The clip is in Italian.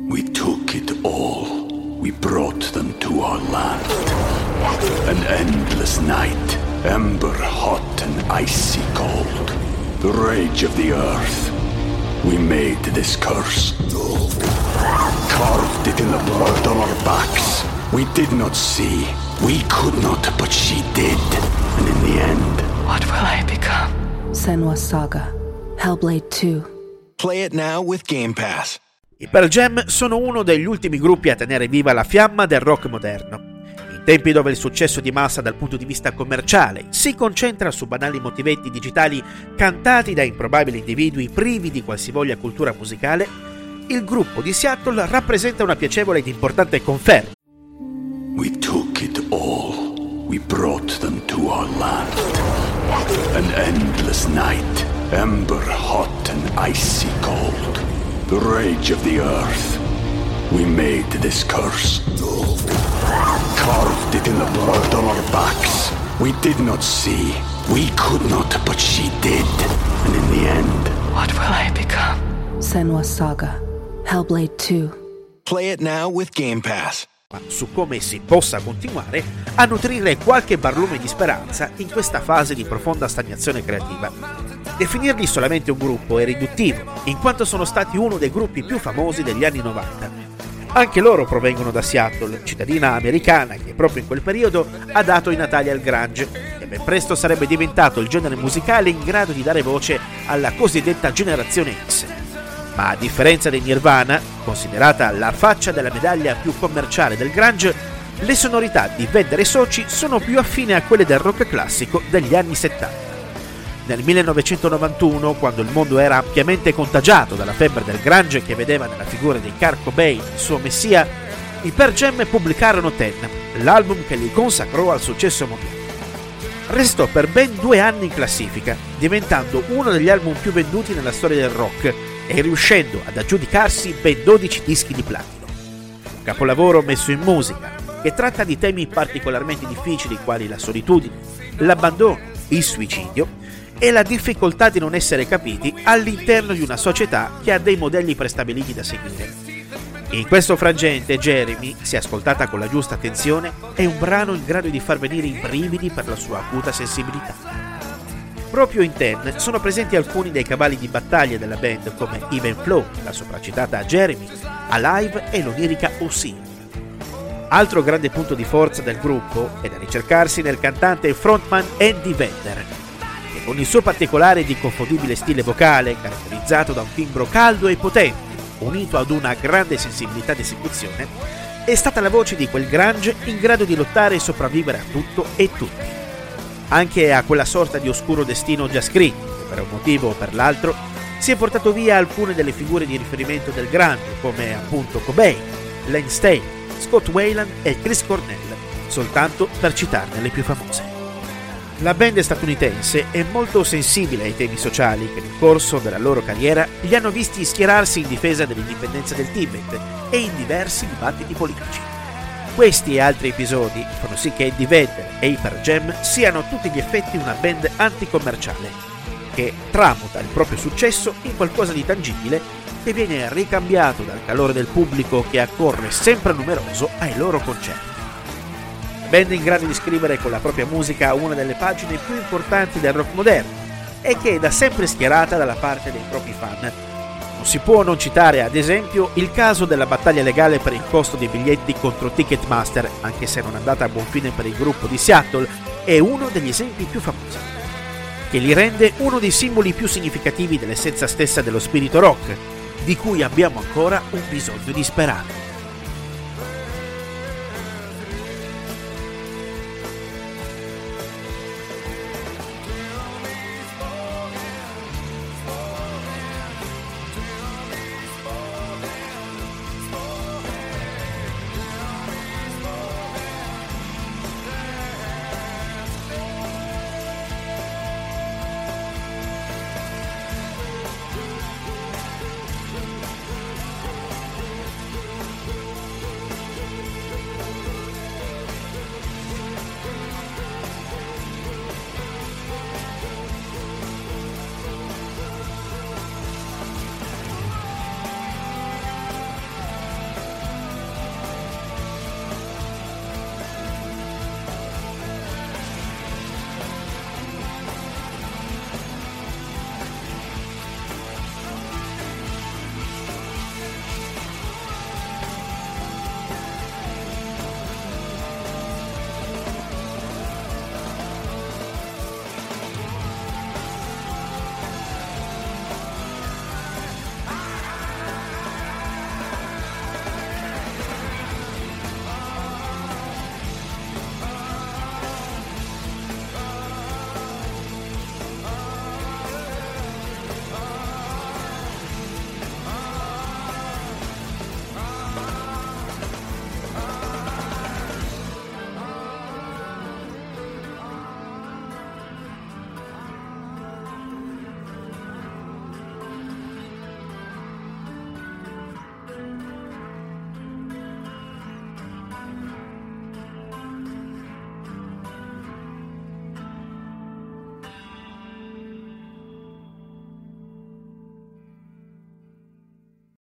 We took it all. We brought them to our land. An endless night, ember hot and icy cold. The rage of the earth. We made this curse. Carved it in the blood on our backs. We did not see. We could not, but she did. And in the end... What will I become? Senua's Saga. Hellblade 2. Play it now with Game Pass. I Pearl Jam sono uno degli ultimi gruppi a tenere viva la fiamma del rock moderno. In tempi dove il successo di massa dal punto di vista commerciale si concentra su banali motivetti digitali cantati da improbabili individui privi di qualsivoglia cultura musicale, il gruppo di Seattle rappresenta una piacevole ed importante conferma. We took it all. We brought them to our land. An endless night, ember hot and icy cold. The rage of the earth. We made this curse. Carved it in the blood on our backs. We did not see. We could not, but she did. And in the end... What will I become? Senua's Saga. Hellblade 2. Play it now with Game Pass. Su come si possa continuare a nutrire qualche barlume di speranza in questa fase di profonda stagnazione creativa. Definirli solamente un gruppo è riduttivo, in quanto sono stati uno dei gruppi più famosi degli anni 90. Anche loro provengono da Seattle, cittadina americana che proprio in quel periodo ha dato i natali al grunge e ben presto sarebbe diventato il genere musicale in grado di dare voce alla cosiddetta generazione X. Ma a differenza dei Nirvana, considerata la faccia della medaglia più commerciale del grunge, le sonorità di Vedder e soci sono più affine a quelle del rock classico degli anni 70. Nel 1991, quando il mondo era ampiamente contagiato dalla febbre del grunge che vedeva nella figura di Kurt Cobain il suo messia, i Pearl Jam pubblicarono Ten, l'album che li consacrò al successo mondiale. Restò per ben 2 anni in classifica, diventando uno degli album più venduti nella storia del rock e riuscendo ad aggiudicarsi ben 12 dischi di platino. Un capolavoro messo in musica, che tratta di temi particolarmente difficili quali la solitudine, l'abbandono, il suicidio e la difficoltà di non essere capiti all'interno di una società che ha dei modelli prestabiliti da seguire. In questo frangente Jeremy, se ascoltata con la giusta attenzione, è un brano in grado di far venire i brividi per la sua acuta sensibilità. Proprio in Ten sono presenti alcuni dei cavalli di battaglia della band come Even Flow, la sopracitata Jeremy, Alive e l'onirica Ocean. Altro grande punto di forza del gruppo è da ricercarsi nel cantante e frontman Andy Vedder, che con il suo particolare ed inconfondibile stile vocale, caratterizzato da un timbro caldo e potente, unito ad una grande sensibilità di esecuzione, è stata la voce di quel grunge in grado di lottare e sopravvivere a tutto e tutti. Anche a quella sorta di oscuro destino già scritto, che per un motivo o per l'altro si è portato via alcune delle figure di riferimento del grunge, come appunto Cobain, Len Staley, Scott Weiland e Chris Cornell, soltanto per citarne le più famose. La band statunitense è molto sensibile ai temi sociali che nel corso della loro carriera li hanno visti schierarsi in difesa dell'indipendenza del Tibet e in diversi dibattiti politici. Questi e altri episodi fanno sì che Eddie Vedder e i Pearl Jam siano a tutti gli effetti una band anticommerciale, che tramuta il proprio successo in qualcosa di tangibile che viene ricambiato dal calore del pubblico che accorre sempre numeroso ai loro concerti. Band in grado di scrivere con la propria musica una delle pagine più importanti del rock moderno e che è da sempre schierata dalla parte dei propri fan. Non si può non citare, ad esempio, il caso della battaglia legale per il costo dei biglietti contro Ticketmaster, anche se non è andata a buon fine per il gruppo di Seattle, è uno degli esempi più famosi, che li rende uno dei simboli più significativi dell'essenza stessa dello spirito rock, di cui abbiamo ancora un bisogno disperato.